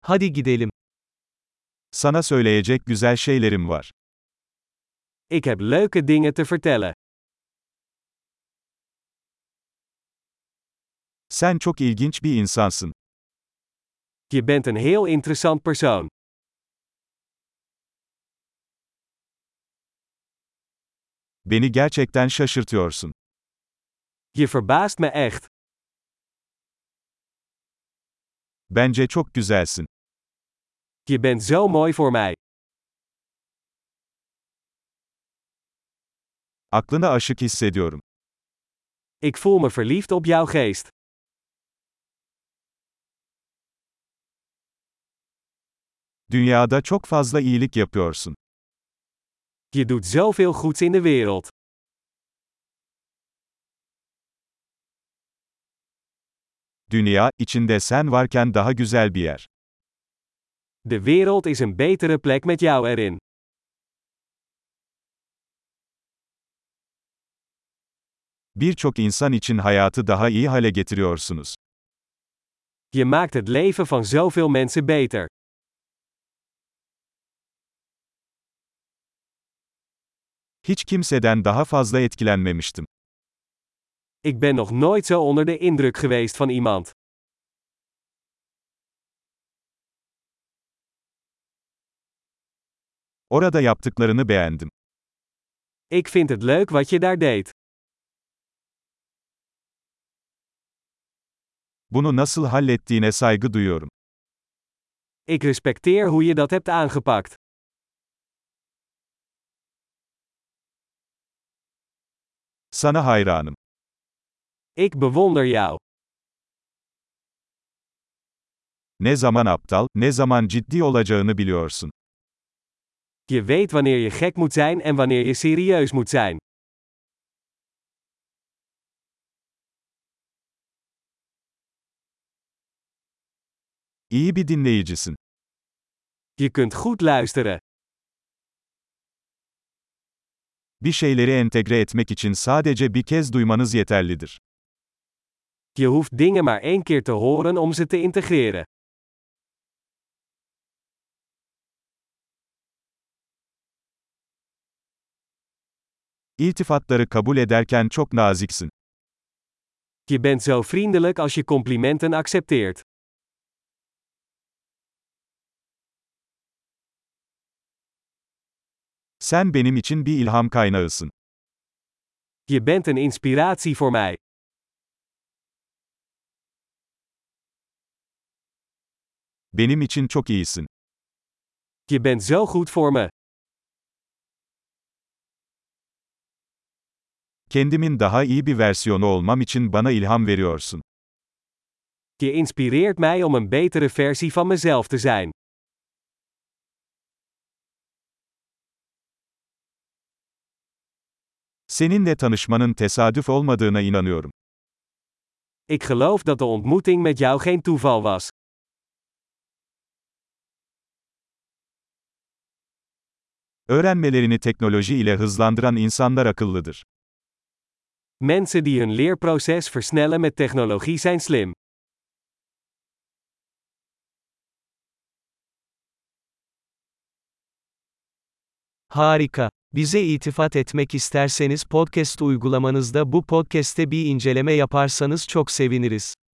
Hadi gidelim. Sana söyleyecek güzel şeylerim var. Ik heb leuke dingen te vertellen. Sen çok ilginç bir insansın. Je bent een heel interessant persoon. Beni gerçekten şaşırtıyorsun. Je verbaast me echt. Bence çok güzelsin. Je bent zo mooi voor mij. Aklına aşık hissediyorum. Ik voel me verliefd op jouw geest. Dünyada çok fazla iyilik yapıyorsun. Je doet zoveel goeds in de wereld. Dünya, içinde sen varken daha güzel bir yer. De wereld is een betere plek met jou erin. Birçok insan için hayatı daha iyi hale getiriyorsunuz. Je maakt het leven van zoveel mensen beter. Hiç kimseden daha fazla etkilenmemiştim. Ik ben nog nooit zo onder de indruk geweest van iemand. Orada yaptıklarını beğendim. Ik vind het leuk wat je daar deed. Bunu nasıl hallettiğine saygı duyuyorum. Ik respecteer hoe je dat hebt aangepakt. Sana hayranım. Ik bewonder jou. Ne zaman aptal, ne zaman ciddi olacağını biliyorsun. Je weet wanneer je gek moet zijn en wanneer je serieus moet zijn. İyi bir dinleyicisin. Je kunt goed luisteren. Bir şeyleri entegre etmek için sadece bir kez duymanız yeterlidir. Je hoeft dingen maar één keer te horen om ze te integreren. İltifatları kabul ederken çok naziksin. Je bent zo vriendelijk als je complimenten accepteert. Sen benim için bir ilham kaynağısın. Je bent een inspiratie voor mij. Benim için çok iyisin. Je bent zo goed voor me. Kendimin daha iyi bir versiyonu olmam için bana ilham veriyorsun. Je inspireert mij om een betere versie van mezelf te zijn. Seninle tanışmanın tesadüf olmadığına inanıyorum. Ik geloof dat de ontmoeting met jou geen toeval was. Öğrenmelerini teknoloji ile hızlandıran insanlar akıllıdır. Mensen die hun leerproces versnellen met technologie zijn slim. Harika. Bize iltifat etmek isterseniz podcast uygulamanızda bu podcast'te bir inceleme yaparsanız çok seviniriz.